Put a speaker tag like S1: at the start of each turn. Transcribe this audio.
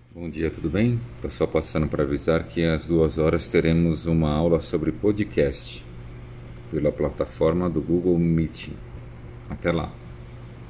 S1: Bom dia, tudo bem? Estou só passando para avisar que às 2 horas teremos uma aula sobre podcast pela plataforma do Google Meet. Até lá!